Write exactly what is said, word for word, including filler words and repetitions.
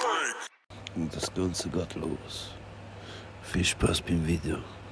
Und das Ganze geht los. Viel Spaß beim Video.